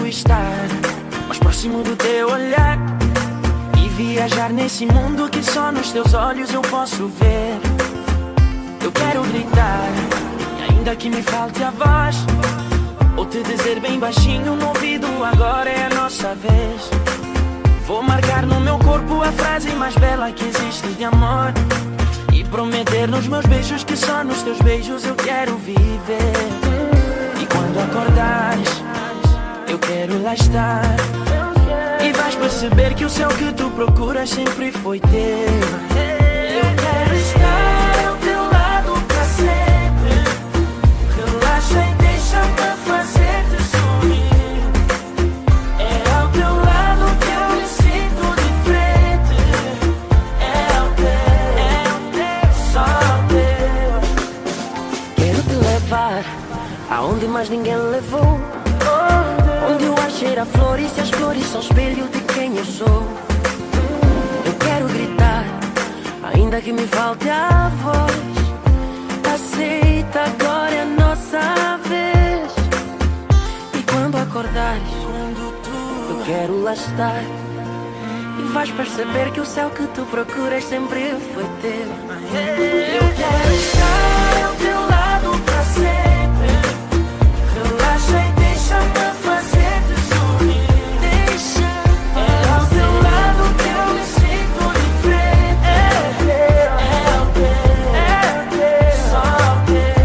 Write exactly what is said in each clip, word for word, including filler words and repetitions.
estar mais próximo do teu olhar e viajar nesse mundo que só nos teus olhos eu posso ver. Eu quero gritar, e ainda que me falte a voz, ou te dizer bem baixinho no ouvido, agora é a nossa vez. Vou marcar no meu corpo a frase mais bela que existe de amor e prometer nos meus beijos que só nos teus beijos eu quero viver. E quando acordares, eu quero lá estar, e vais perceber que o céu que tu procuras sempre foi teu. Eu quero estar ao teu lado pra sempre. Relaxa e deixa-me fazer-te sorrir. É ao teu lado que eu me sinto diferente. É ao teu, é ao teu, só ao teu. Quero te levar aonde mais ninguém levou, onde o ar cheira a flores e as flores são espelho de quem eu sou. Eu quero gritar, ainda que me falte a voz. Aceita, agora é a nossa vez. E quando acordares, eu quero lá estar, e vais perceber que o céu que tu procuras sempre foi teu. Eu quero estar ao teu lado pra sempre. Relaxa e deixa-me fazer-te sorrir. Deixa, é ao teu lado que eu me sinto diferente. É teu, é ao teu, é teu, só ao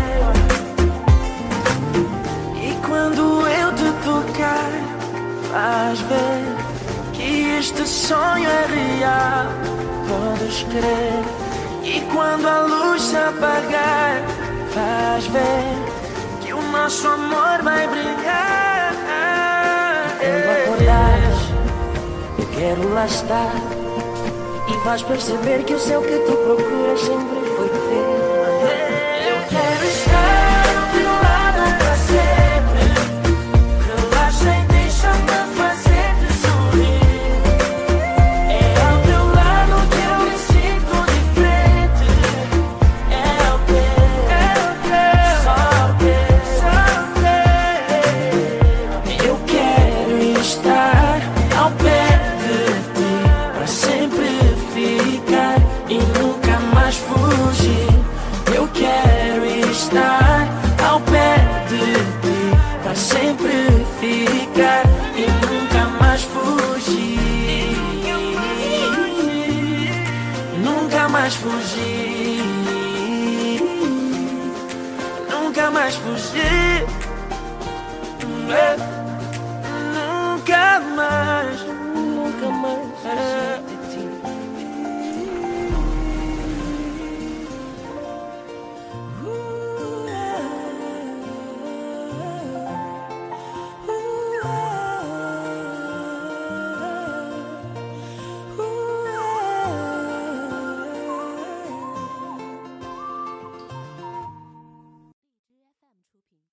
teu. E quando eu te tocar, vais ver que este sonho é real, podes crer. E quando a luz se apagar, vais ver que o nosso amor vai brilhar. Quando acordares, eu quero lá estar, e vais perceber que o céu que tu procuras sempre foi teu. Eu quero estar ao teu lado pra sempre. Relaxa e deixa-me fazer-te sorrir. É ao teu lado que eu me sinto diferente. É ao teu, é ao teu, só ao teu, só ao teu. Eu quero estar ao pé de ti pra sempre ficar e nunca mais fugir. Eu quero estar ao pé de ti pra sempre ficar e nunca mais fugir. Nunca mais fugir. Nunca mais fugir.